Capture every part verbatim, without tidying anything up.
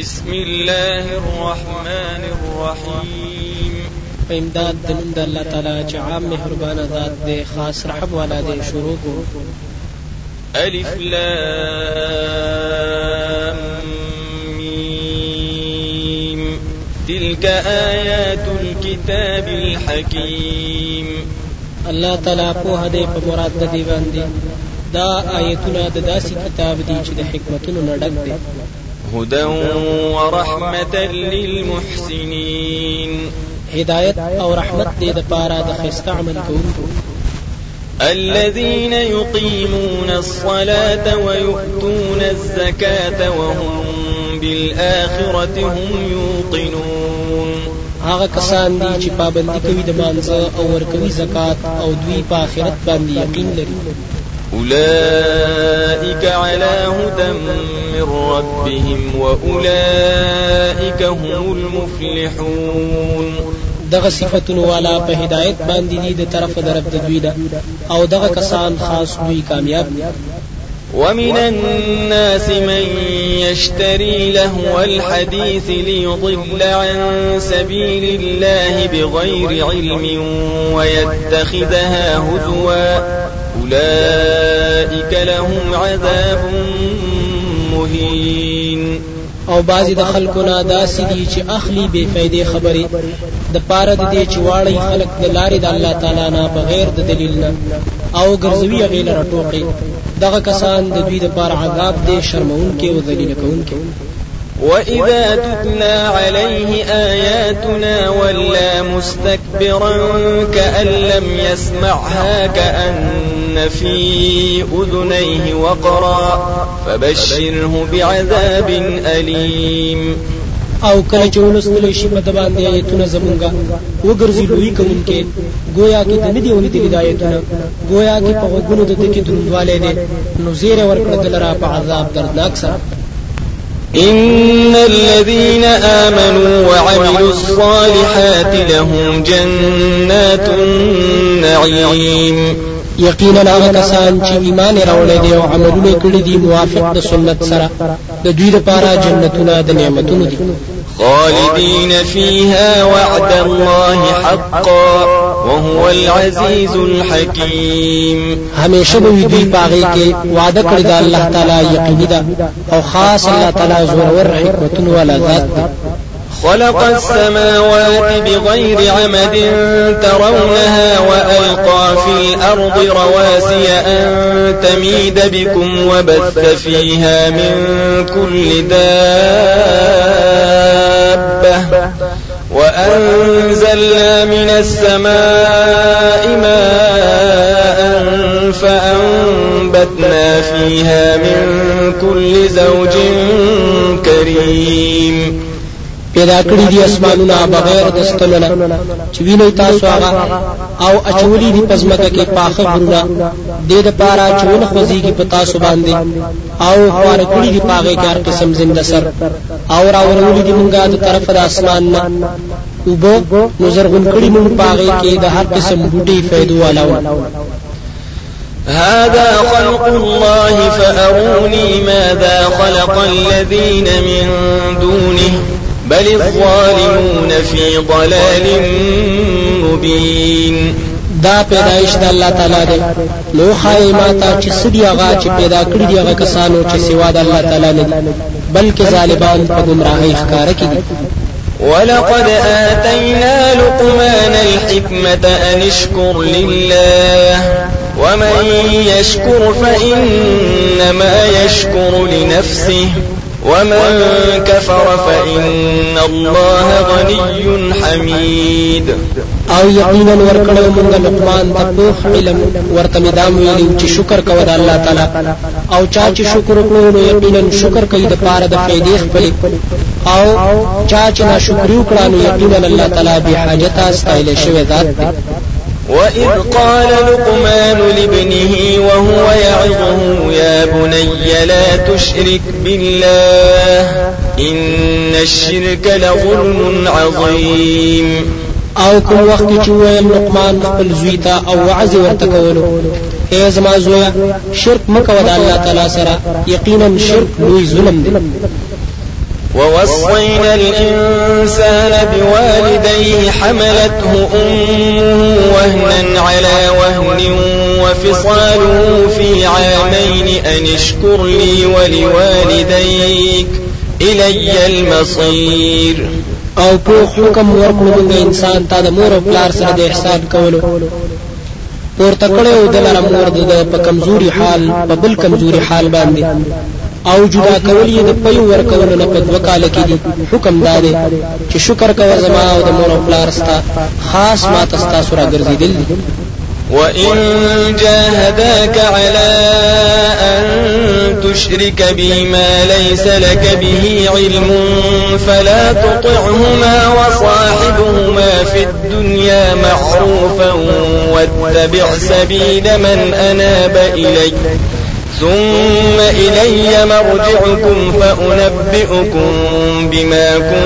بسم الله الرحمن الرحيم. فإمداد دنند الله تعالی چې عام مهربان ذات دے خاص رحم والا دے. شروع کو الف لام میم تلك آیات الكتاب الحکیم. الله تعالی په هدي په مراد د دی باندې دا آیتونه د داسې کتاب دي چې د حکمتونو نه ډک دي. هدى ورحمة للمحسنين. هدایت او رحمت دې د پاره د خسته عمل کوونکو. الذين يقيمون الصلاة ويؤتون الزكاة وهم بالآخرة هم يوقنون. هغه کسان دي چې پابندي کوي د مانځه او ورکوي زکات او دوی په آخرت باندې یقین لري. أولئك على هدى من ربهم وأولئك هم المفلحون. دغه صفاتونو والا په هدایت باندې دي د طرف درب د دوی ده او دغه کسان خاص دوی کامیاب دي. ومن الناس من يشتري لهو الحديث ليضل عن سبيل الله بغير علم ويتخذها هزوا أولئك لهم عذاب مهين. او بعضی د خلکونه داسې دي چې اخلي بے فائدې خبرې د پاره د دې چې واړی خلک د لارې د الله تعالی نه بغیر د دلیل نه او ګرځوي هغې لره ټوقې. دغه کسان د دوی د پاره عذاب دی شرمونکي او ذلیل کوونکي. وإذا تتلى عليه آياتنا ولى مستكبرا كأن لم يسمعها كأن في أذنيه وقرا فبشره بعذاب أليم. او کله چې ولستل شي په د باندې آیتونه زمونږه وګرځي لوی کوونکې گویا کې د ندی اوریدلې د آیتونه گویا کې په غوږونو د دې کې دروندواله دي نو زیر ورکړه دلرا په عذاب دردناک سره. إن الذين آمنوا وعملوا الصالحات لهم جنات النعيم. یقینا هغه کسان چې ایمان راوړي دي او عملونه کړي دي موافق د سنت سره د دوی لپاره جنتونه د نعمتونو دي. خالدين فيها وعد الله حقا وهو العزيز الحكيم. همیشه به دوی پاغي کې وعده کړی دا الله تعالی یقیني ده او خاص الله تعالی زورور حکمتونه ولا ذات ده. خلق السماوات بغير عمد ترونها وألقى في الأرض رواسي أن تميد بكم وبث فيها من كل دابة وأنزلنا من السماء ماء فأنبتنا فيها من كل زوج كريم. پیدا کړی دي اسمانونه بغیر د ستلونه چې ویني تاسو هغه او اچولي دي پزماکه کې پاخه غرونه د دې لپاره چې ونه خوځيږي په تاسو باندې او خور کړی دي پاغه کې هر قسم زنده سر او راولولي دي مونږه د طرف د اسمان نه وبو نظر غون کړی مونږ پاغه کې د هر قسم بوټي فائدو والاو. هذا خلق الله فأروني ماذا خلق الذين من دونه بل الظالمون في ضلال مبين. دا پیدائش د الله تعالی دی نو خای ماته چې سړي هغه چې پیدا کړی دی هغه کسانو چې سوا د الله تعالی نه بلکې ظالمان په گمراهۍ ښکار کړي. ولقد آتينا لقمان الحكمة أن اشكر لله ومن يشكر فإنما يشكر لنفسه ومن كفر فإن الله غني حميد. او یقینا ورکړو موږ لقمان ته په علم ورته مدام ویلو چې شکر کوو د الله تعالی او چا چې شکر وکړو نو یقینا شکر کوي د پاره د فائدې خپل او چا چې ناشکری وکړو نو یقینا الله تعالی به حاجت استایل شوی ذات دی. وإذ قال لقمان لابنه وهو يعظه يا بني لا تشرك بالله إن الشرك لظلم عظيم. او کوم وخت چې ویل لقمان خپل زوی ته او وعظ ورته کولو اے زما زویا شرک مکو د الله تعالی سره یقینا شرک لوی ظلم دی. ووصينا الإنسان بوالديه حملته أمه وهنا على وهن وفصاله في عامين أن اشكر لي ولوالديك إلي المصير. او په حکم ورکړو موږ انسان ته د مور او پلار سره د احسان کولو پورته کړو د لاره مور د په کمزوري حال په بل کمزوري حال باندې او جدا کول یې د پي ورکولو نه په دوه کال کې دي. حکم دا دی چې شکر کوه زما او د مور او پلار ستا خاص ما تستا سره ګرځېدل دي. وإن جاهداك على أن تشرك بي ما ليس لك به علم فلا تطعهما وصاحبهما في الدنيا معروفا واتبع سبيل من أناب إلي ثم إلي مرجعكم فأنبئكم بما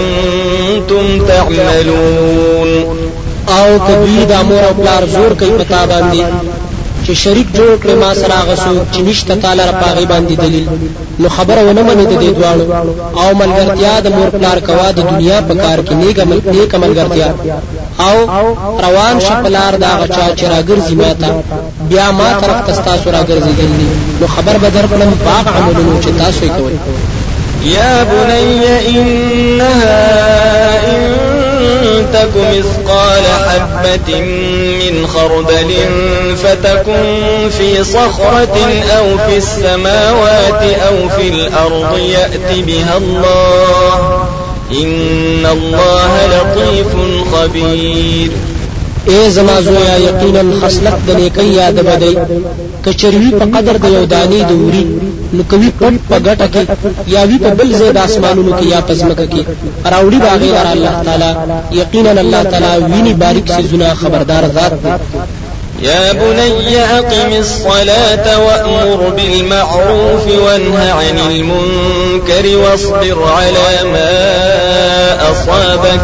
كنتم تعملون. او کدوی د امور او پلار زور کوي پتا باندې چې شریک جوړ کړي ما سره غسو چې نشته تعالی را پاغي باندې دلیل نو خبره ونه مني د دې دواړو او ملګرتیا د مور پلار کوا د دنیا په کار کې نیک عمل نیک ملګرتیا او روان شپلار دا غچا چې راګرځي ماته بیا ما طرف تستا سره راګرځي نو خبر بدر کړم باغ عملونو چې تاسو یې کوي. يا بني إنها إن تك مثقال حبة من خردل فتكن في صخرة أو في السماوات أو في الأرض يأت بها الله إن الله لطيف خبير. اے زما زویا یقینا خصلت د نیکی یاد بدی کچروی په قدر د یو دانی دوری نو کوي پټ په ګټه کې یا وی په بل ځای د اسمانونو کې یا پزمکه کې راوړي باغی لار الله تعالی یقینا الله تعالی ویني باریک سيزونه خبردار ذات دی. يا بني أقم الصلاة وأمر بالمعروف وانه عن المنكر واصبر على ما أصابك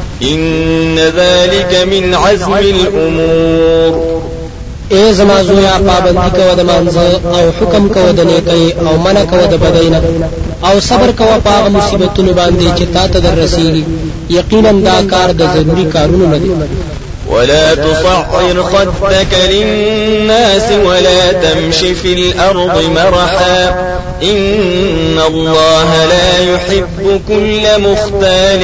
إن ذلك من عزم الأمور. اے زما زویا پابندی کو د مانځه او حکم کو د نیکی او منع کو د بدینه او صبر کو په مصیبتونو باندې چې تا ته درسیږي یقینا دا کار د ضروری کارونو نه دی. ولا تصعر خدك للناس ولا تمش في الأرض مرحا إن الله لا يحب كل مختال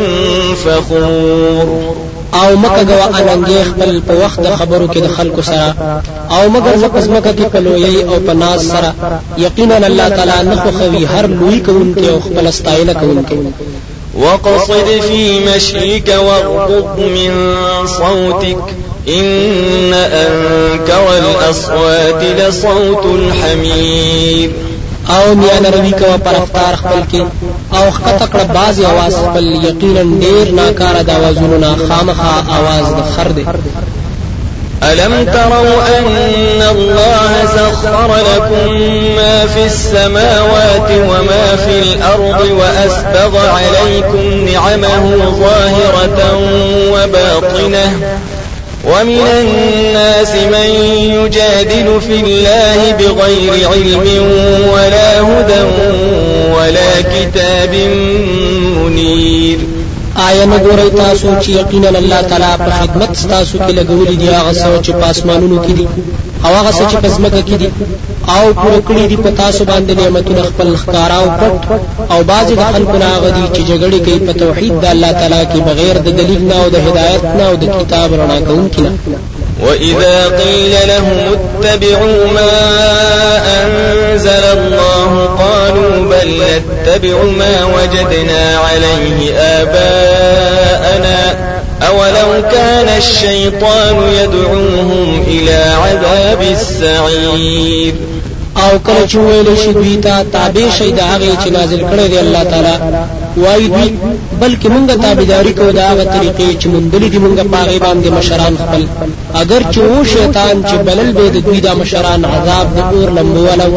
فخور. او مکه غوا اننګ خپل په وخت خبرو کې د خلکو سره او مگر فقط مکه کې کلوې او په ناز سره یقینا الله تعالی نه خوښوي هر لوی کوونکی او خپل استاینه کوونکی. وقصد في مشيك واغضض من صوتك إن أنكر الأصوات لصوت الحمير. او میان روی کوا پر افطار خپل کې او خطکړه باز आवाज خپل یقینا ډیر ناکاره د आवाजونو نه خامخا आवाज د خر دی. ألم تروا أن الله سخر لكم ما في السماوات وما في الأرض وأسبغ عليكم نعمه ظاهرة وباطنة ومن الناس من يجادل في الله بغير علم ولا هدى ولا كتاب منير. آیا نګورئ تاسو چې یقینا الله تعالی په خدمت تاسو کې لګولې دي هغه څه چې پاسمانونو کې دي او هغه څه چې پسمکه کې دي او پوره کړی دي په تاسو باندې نعمتونه خپل ښکارا او پټ او بعضی د خلکو نه هغه دي چې جګړې کوي په توحید د الله تعالی کې بغیر د دلیل نه او د هدایت نه او د کتاب رڼا کوونکی نه. وإذا قيل لهم اتبعوا ما أنزل الله قالوا بل نتبع ما وجدنا عليه آباءنا أولو كان الشيطان يدعوهم إلى عذاب السعير. او کله چې ویل شي دوی ته تابع شي د هغه چې نازل کړی دی الله تعالی وایي دوی بلکې مونږه تابعداري کوو د هغه طریقې چې مونږ دي مونږه پاغي باندې مشران خپل اگر چې و شیطان چې بلل به د دوی د مشران عذاب د اور لمبو ولا.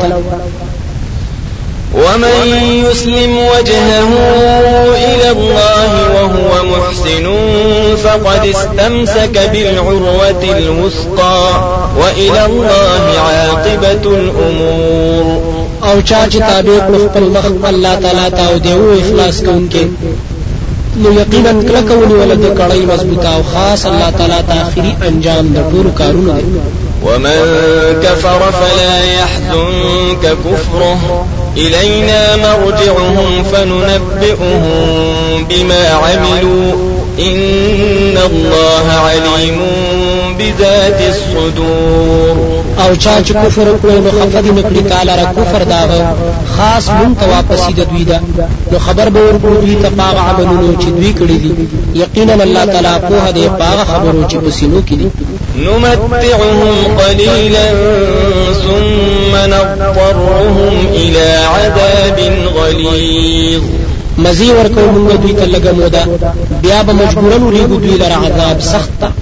ومن يسلم وجهه إلى الله وهو محسن فقد استمسك بالعروة الوثقى وإلى الله عاقبة الأمور. او چا چې تابع کړ خپل مخ الله تعالی ته او دیو اخلاص کوونکې نو یقینا کله کوي ولد کړای مضبوطه او خاص الله تعالی ته اخري انجام د ټول کارونو دی. ومن كفر فلا يحزنك كفره إلينا مرجعهم فننبئهم بما عملوا إن الله عليم بذات الصدور. او چا چې کفر وکړي نو خفد نکړي تعالی را کفر داغه خاص مون ته واپس د دوی دا نو خبر به ورکړي دوی ته پاغه عملونو چې دوی کړی دي یقینا الله تعالی په هغه پاغه خبرو چې پسینو کې دي. نمتعهم قليلا ثم نضطرهم إلى عذاب غليظ. مزي ورکو موږ دوی ته لګه مودا بیا به مجبورن لري دوی لره عذاب سخت.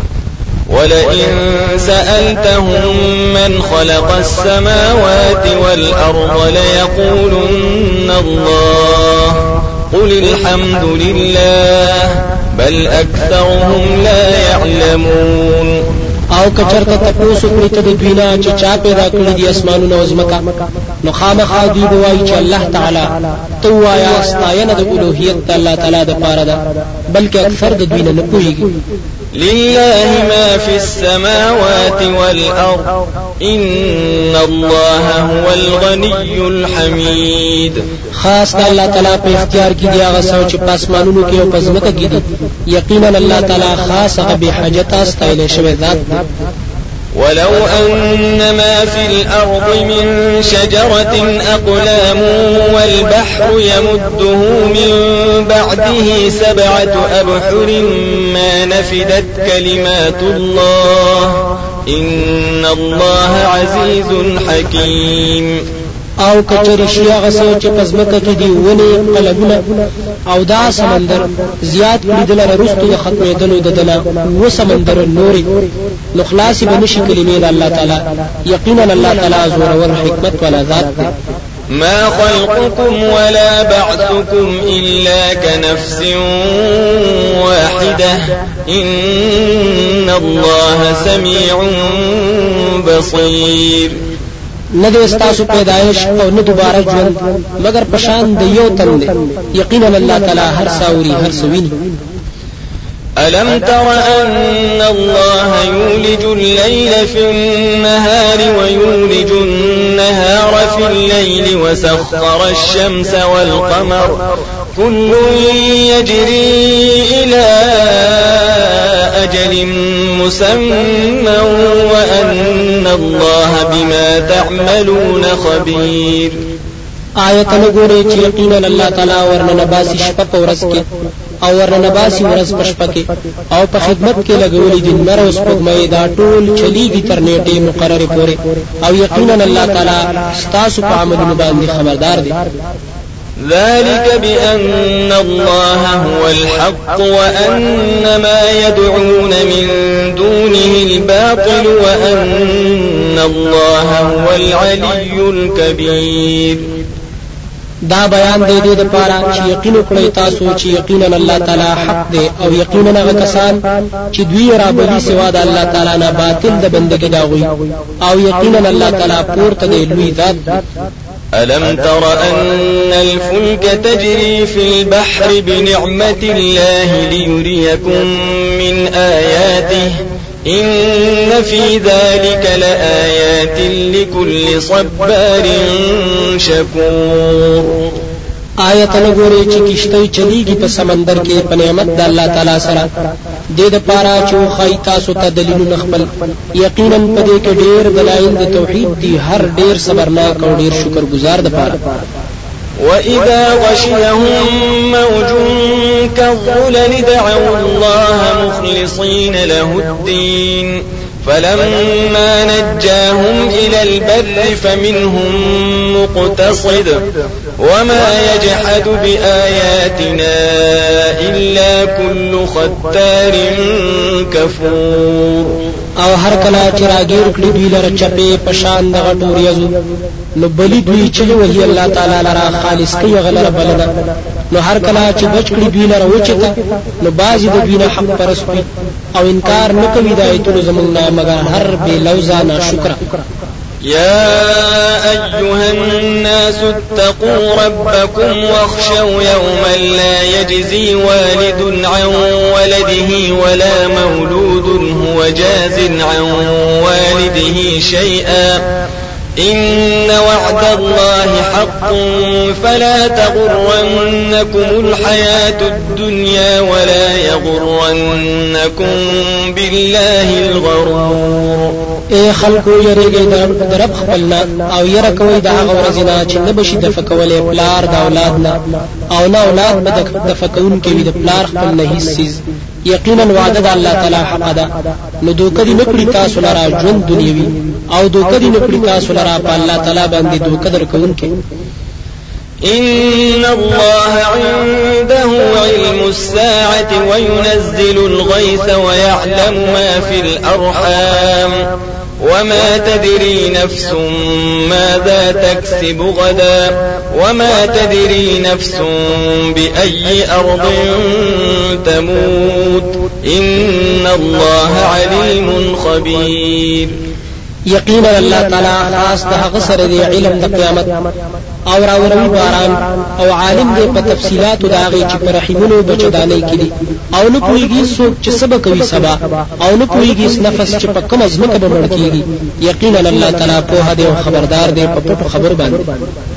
ولئن سألتهم من خلق السماوات والأرض ليقولن الله قل الحمد لله بل أكثرهم لا يعلمون. او کچرته تاسو کړی ته د دوینا چې چا پیدا کړی دي اسمانونه او زمکا نو خامخا دوی بوایي چې الله تعالی تو وایا استاینه د الوهیت الله تعالی د پاره ده بلکې اکثر د دوینا نه پوهیږي. لله ما في السماوات والأرض إن الله هو الغني الحميد. خاص الله تعالی په اختیار کې دی هغه څه چې پاسمانونو کې او پزمکه کې دي یقینا الله تعالی خاص هغه به حاجت استایل شوی ذات دی. ولو أن ما في الأرض من شجرة أقلام والبحر يمده من بعده سبعة أبحر ما نفدت كلمات الله إن الله عزيز حكيم. او کچری شیا غسو چې پزمکه کې دی ونی قلبونه او دا سمندر زیات کړي رستو د ختمېدلو د دلا و سمندر نوري نو خلاص به نشي کلمې د الله تعالی یقینا الله تعالی زور او حکمت ولا ذات دی. ما خلقكم ولا بعثكم إلا كنفس واحدة إن الله سميع بصير. نه د استاسو پیدایش او نه دوباره ژوند مگر پشان د یو تن دی یقینا الله تعالی هر ساوري هر سویني. ألم تر أن الله يولج الليل في النهار ويولج النهار في الليل وسخر الشمس والقمر كل يجري إلى أجل مسمى وأن الله بما تعملون خبير. آیت نګوري چې یقینا الله تعالی ورنه باسي شپه په ورځ کې او ورنه باسي ورځ په شپه کې او په خدمت کې لګولې دي نر اوس په مې دا ټول چلیږي تر نیټه مقرره پورې او یقینا الله تعالی ستاسو په عملونو باندې خبردار دی. ذلك بأن الله هو الحق وأن ما يدعون من دونه الباطل وأن الله هو العلي الكبير. دا بیان دی دې لپاره چې یقین وکړئ تاسو چې یقینا الله تعالی حق دی او یقینا هغه کسان چې دوی را بلی سوا د الله تعالی نه باطل د بندګۍ داوي او یقینا الله تعالی پورته دی لوی ذات. ألم تر أن الفلك تجري في البحر بنعمة الله ليريكم من آياته إن في ذلك لآيات لكل صبار شكور. آیت نګوري چې کشته چلیږي په سمندر کې په نعمت د الله تعالی سره د دې لپاره چې خای تاسو ته دلیلونه خپل یقینا په دې کې ډېر دلایل د توحید دي هر ډېر صبرناک او ډېر شکرګزار ده پاره. وإذا غشيهم موج كالظلل دعوا الله مخلصين له الدين فلما نجاهم إلى البر فمنهم مقتصد وما يجحد بآياتنا إلا كل ختار كفور. او هر کله چې راګیر کړي دوی لره چپې پشان د غټور یزو نو بلی دوی چې وهي الله تعالی لره خالص کوي غلره بلنه نو هر کله چې بچ کړي دوی لره وچته نو بعضی د دوی نه حق پرستی او انکار نه کوي د ایتونو زمونږ نه مگر هر بے لوزا ناشکر. يا أيها الناس اتقوا ربكم واخشوا يوما لا يجزي والد عن ولده ولا مولود هو جاز عن والده شيئا إن وعد الله حق فلا تغرنكم الحياة الدنيا ولا يغرنكم بالله الغرور. اے خلقو یریږئ د رب خپلنا او یره کوئ د هغه ورځې نه چې نه بشي دفع کولی پلار د اولاد نه او نه اولاد به دفع کوونکی وي د پلار خپل نه هیڅ څیز. یقینا وعده د الله تعالی حق ده. نو دوکه دې نه کړي تاسو لره ژوند دنیوي او دوکه دې نه کړي تاسو لره په الله تعالی باندې دوکه درکوونکی. إن الله عنده علم الساعة وينزل الغيث ويعلم ما في الأرحام وما تدري نفس ماذا تكسب غدا وما تدري نفس بأي أرض تموت إن الله عليم خبير. یقینا الله تعالی خاص د هغه سره دی علم د قیامت او راوروي باران او عالم دی په تفصيلات د هغه چې پر رحمونو بچدانې کړي او نو پويږي څوک چې سبا کوي سبا او نو پويږي نفس چې په کوم ځمکه به مړ کیږي. یقینا الله تعالی په هدا او خبردار دی په پټو خبر باندې.